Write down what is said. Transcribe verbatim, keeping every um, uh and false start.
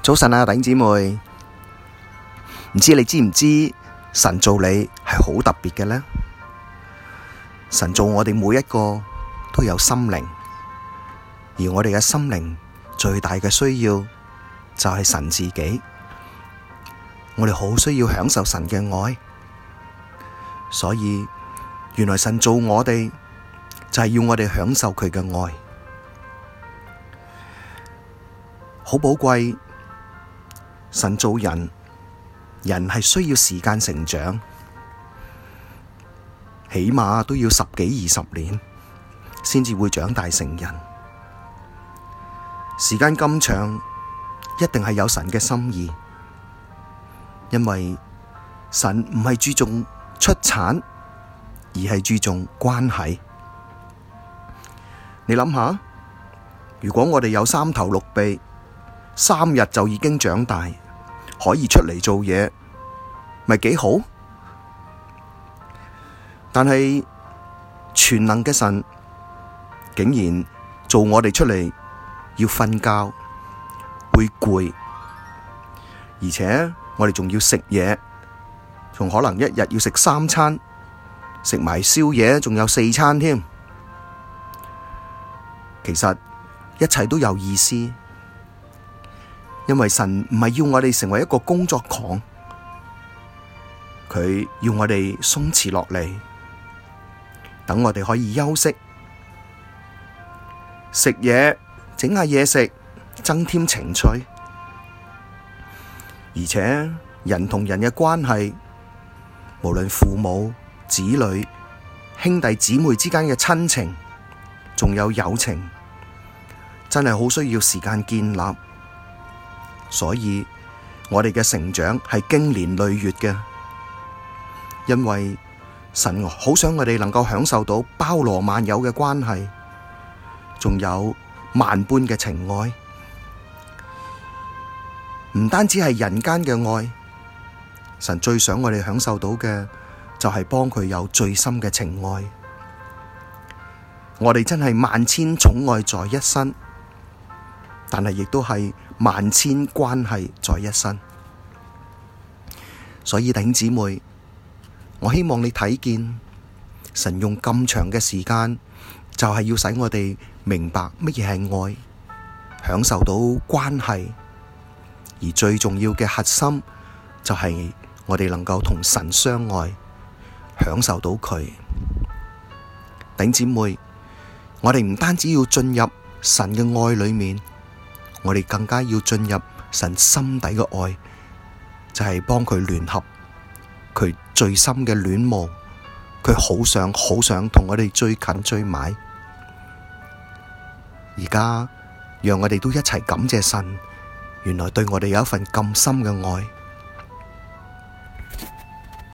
早晨啊，弟兄姊妹，唔知你知唔知神造你係好特別嘅呢？神造我哋每一個都有心靈，而我哋嘅心靈最大嘅需要就係神自己。我哋好需要享受神嘅愛，所以原來神造我哋就係要我哋享受佢嘅愛，好寶貴。神造人，人係需要時間成長，起碼都要十幾二十年先至會長大成人。時間咁長，一定係有神嘅心意，因為神唔係注重出產，而係注重關係。你諗下，如果我哋有三頭六臂，三日就已經長大，可以出嚟做嘢，咪幾好？但係全能嘅神竟然做我哋出嚟要瞓覺，會攰，而且我哋仲要食嘢，仲可能一日要食三餐，食埋宵夜，仲有四餐添。其實一切都有意思。因為神唔係要我哋成為一個工作狂，佢要我哋鬆弛落嚟，等我哋可以休息、食嘢、整下嘢食，增添情趣。而且人同人嘅關係，無論父母、子女、兄弟姊妹之間嘅親情，仲有友情，真係好需要時間建立。所以我哋嘅成長係經年累月嘅，因為神好想我哋能夠享受到包羅萬有嘅關係，仲有萬般嘅情愛，唔單止係人間嘅愛，神最想我哋享受到嘅就係幫佢有最深嘅情愛。我哋真係萬千寵愛在一身，但係亦都係萬千關係在一身，所以弟兄姊妹，我希望你睇見神用咁長嘅時間，就係要使我哋明白乜嘢係愛，享受到關係，而最重要嘅核心就係我哋能夠同神相愛，享受到佢。弟兄姊妹，我哋唔單止要進入神嘅愛裏面，我哋更加要進入神心底嘅愛，就係幫佢聯合，佢最深嘅戀慕，佢好想好想同我哋最近最埋。而家讓我哋都一齊感謝神，原來對我哋有一份咁深嘅愛。